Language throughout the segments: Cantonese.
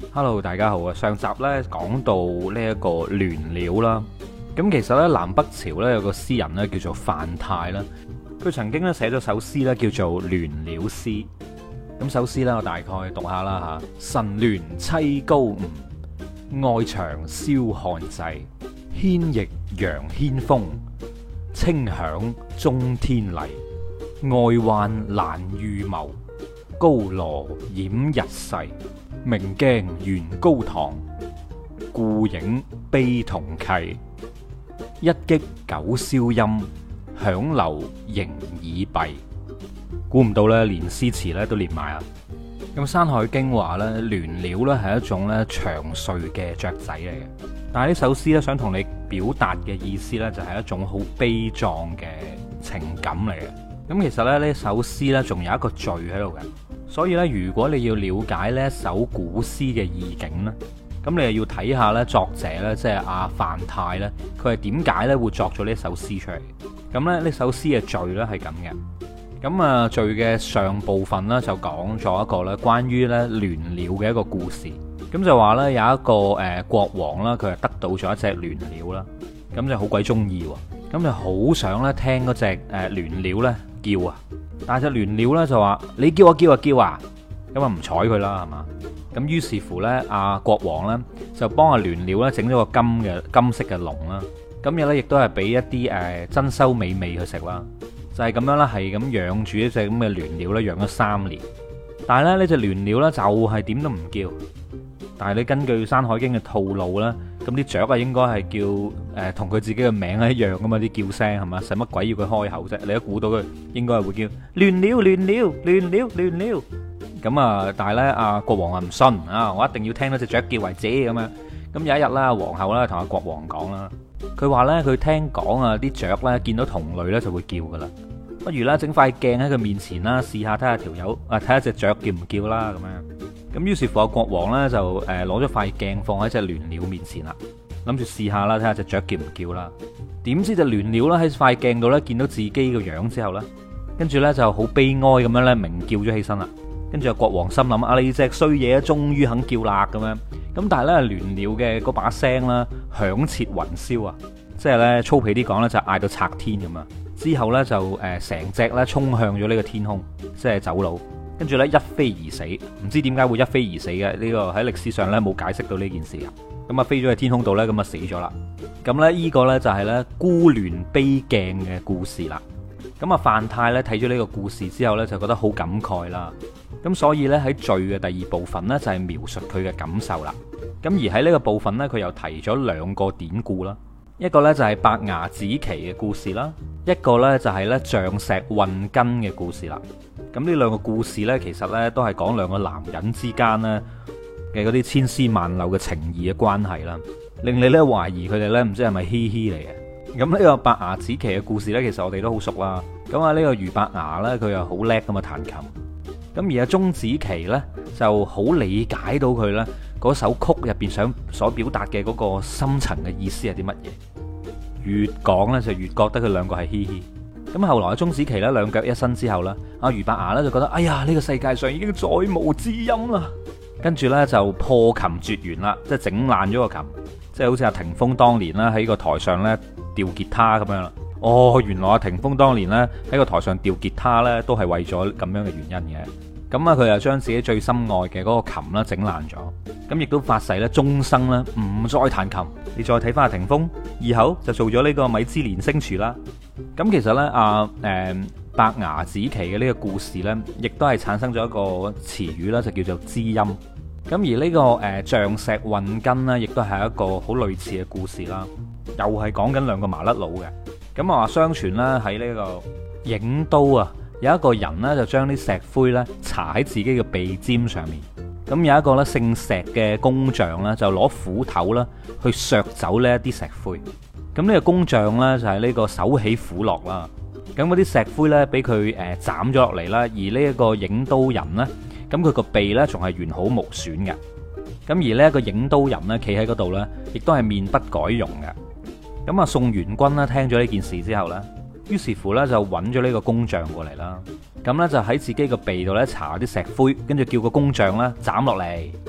Hello，大家好啊！上集呢講到呢一個聯鳥啦，咁其實呢，南北朝呢有個詩人呢叫做范泰啦，佢曾經呢寫咗首詩呢叫做《聯鳥詩》。咁首詩呢，我大概讀下啦吓：晨聯棲高吳，外牆燒漢際。牽翼揚軒風，清響中天麗。外患難預謀，高羅掩日勢。明鏡懸高堂，故影悲同契。一擊九霄音，響流形耳閉。估唔到咧，連詩詞咧都連埋啊！咁《山海經》話咧，聯鳥咧係一種咧長睡嘅雀仔嚟嘅。但係呢首詩咧想同你表達嘅意思咧，就係一種好悲壯嘅情感嚟嘅。咁其實咧呢首詩咧仲有一個序喺度嘅。所以咧，如果你要了解呢一首古詩嘅意境咧，咁你又要睇下咧作者咧，即係阿范泰咧，佢係點解咧會作咗呢首詩出嚟？咁咧呢首詩嘅序咧係咁嘅。咁啊序嘅上部分咧就講咗一個咧關於咧聯鳥嘅一個故事。咁就話咧有一個國王啦，佢係得到咗一隻聯鳥啦，咁就好鬼中意喎，咁就好想咧聽嗰隻聯鳥咧叫啊！但係隻聯鳥咧就話：你叫啊叫啊叫啊！咁啊唔睬佢啦，係嘛？咁於是乎咧，阿國王咧就幫阿聯鳥咧整咗個金色嘅籠啦。咁又咧亦都係俾一啲珍饈美味去食啦。就係咁樣啦，係咁養住一隻咁嘅聯鳥咧，養咗3年。但係咧呢隻聯鳥咧就係點都唔叫。但係你根據《山海經》嘅套路咧，咁啲雀啊應該係叫同佢自己嘅名係一樣噶嘛，啲叫聲係嘛？使乜鬼要佢開口啫？你都估到佢應該係會叫聯鳥聯鳥聯鳥聯鳥。咁啊，但係咧阿國王啊唔信啊，我一定要聽到隻雀叫為止咁樣。咁有一日啦，皇后咧同阿國王講啦，佢話咧佢聽講啊啲雀咧見到同類咧就會叫噶啦，不如咧整塊鏡喺佢面前啦，試下睇下條友睇下隻雀叫唔叫啦咁樣。咁於是乎，國王咧就攞咗塊鏡放喺隻聯鳥面前啦，諗住試下啦，睇下隻雀叫唔叫啦。點知隻聯鳥咧喺塊鏡度咧見到自己個樣之後咧，跟住咧就好悲哀咁樣咧鳴叫咗起身啦。跟住國王心諗：啊，你隻衰嘢終於肯叫啦咁樣。咁但係咧聯鳥嘅嗰把聲啦響徹雲霄啊，即係咧粗鄙啲講咧就嗌到拆天咁啊。之後咧就成隻咧衝向咗呢個天空，即係走佬。跟住咧一飛而死，唔知點解會一飛而死嘅，呢個喺歷史上咧冇解釋到呢件事啊。咁啊飛咗去天空度咧，咁啊死咗啦。咁咧呢個咧就係咧孤聯悲鏡嘅故事啦。咁啊范泰咧睇咗呢個故事之後咧就覺得好感慨啦。咁所以咧喺序嘅第2部分咧就係描述佢嘅感受啦。咁而喺呢個部分咧佢又提咗2個典故啦。一個咧就係伯牙子期嘅故事啦，一個咧就係咧象石運根嘅故事啦。咁呢2個故事咧，其實咧都係講2個男人之間咧嘅嗰啲千絲萬縷嘅情義嘅關係啦，令你咧懷疑佢哋咧唔知係咪嘻嘻嚟嘅。咁呢個伯牙子期嘅故事咧，其實我哋都好熟啦。咁啊呢個俞伯牙咧，佢又好叻咁啊彈琴。咁而阿鐘子期咧就好理解到佢咧嗰首曲入邊所表達嘅嗰個深層嘅意思係啲乜嘢。越講咧就越覺得佢2個係嘻嘻。咁後來鐘子期咧2腳一伸之後咧，阿俞伯牙咧就覺得哎呀呢個世界上已經再無知音啦，跟住咧就破琴絕弦啦，即係整爛咗個琴，即係好似阿霆鋒當年啦喺個台上咧吊吉他咁樣啦。哦，原來阿霆鋒當年咧喺個台上吊吉他咧都係為咗咁樣嘅原因嘅。咁啊佢又將自己最心愛嘅嗰個琴啦整爛咗，咁亦都發誓咧終生咧唔再彈琴。你再睇翻阿霆鋒，以後就做咗呢個米芝蓮星廚啦。咁其實咧伯牙子期嘅呢個故事咧，亦都係產生咗一個詞語啦，就叫做知音。咁而呢個象石運根呢，亦都係一個好類似嘅故事啦，又係講緊2個麻甩佬嘅。咁啊話相傳咧喺呢個郢都啊，有一個人呢，就將啲石灰咧搽喺自己嘅鼻尖上面。咁有一個咧姓石嘅工匠咧，就攞斧頭啦去削走呢一啲石灰。咁呢個工匠呢，就係呢個手起斧落啦。咁嗰啲石灰呢，俾佢斬咗落嚟啦。而呢一個郢都人呢，咁佢個鼻呢，仲係完好無損嘅。咁而呢一個郢都人呢，企喺嗰度呢，亦都係面不改容嘅。咁啊宋元君呢，聽咗呢件事之後呢，於是乎呢，就揾咗呢個工匠過嚟啦。咁呢，就喺自己個鼻度呢，搽啲石灰，跟住叫個工匠呢斬落嚟，切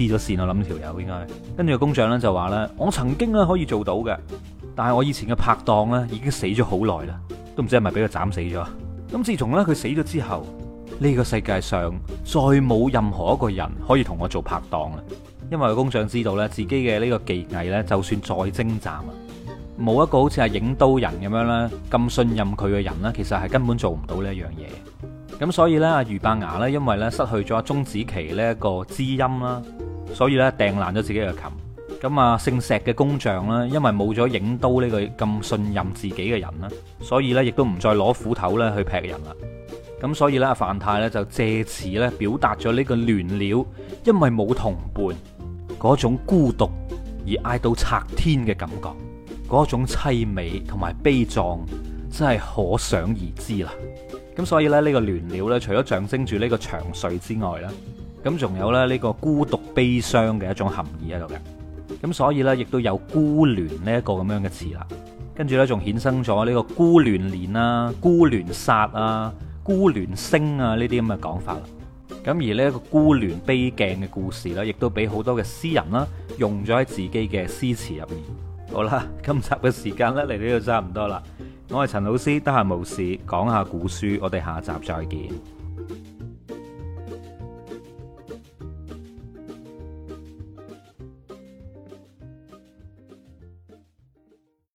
黐咗線，我諗條友應該。跟住個工匠咧就話咧，我曾經咧可以做到嘅，但係我以前嘅拍檔咧已經死咗好耐啦，都唔知係咪俾佢斬死咗。咁自從咧佢死咗之後，呢個世界上再冇任何一個人可以同我做拍檔啦。因為個工匠知道咧自己嘅呢個技藝咧，就算再精湛啊，冇一個好似係影刀人咁樣咧咁信任佢嘅人咧，其實係根本做唔到呢一樣嘢。咁所以咧，阿俞伯牙咧，因為咧失去咗鐘子期呢一個知音啦，所以咧掟爛咗自己嘅琴。咁啊，姓石嘅工匠啦，因為冇咗影刀呢個咁信任自己嘅人啦，所以咧亦都唔再攞斧頭咧去劈人啦。咁所以咧，阿范太咧就借此咧表達咗呢個亂了，因為冇同伴嗰種孤獨而嗌到拆天嘅感覺，嗰種淒美同埋悲壯，真係可想而知啦。咁所以咧，呢個亂了咧，除咗象徵住呢個長睡之外咧，咁仲有咧呢個孤獨悲傷嘅一種含義喺度嘅。咁所以咧，亦都有孤聯呢一個咁樣嘅詞啦。跟住咧，仲衍生咗呢個孤聯連啊、孤聯殺啊、孤聯星啊呢啲咁嘅講法啦。咁而呢一個孤聯悲鏡嘅故事咧，亦都俾好多嘅詩人啦用咗喺自己嘅詩詞入面。好啦，今集嘅時間咧嚟到呢度差唔多啦。我係陳老師，得閒無事講下古書，我哋下集再見。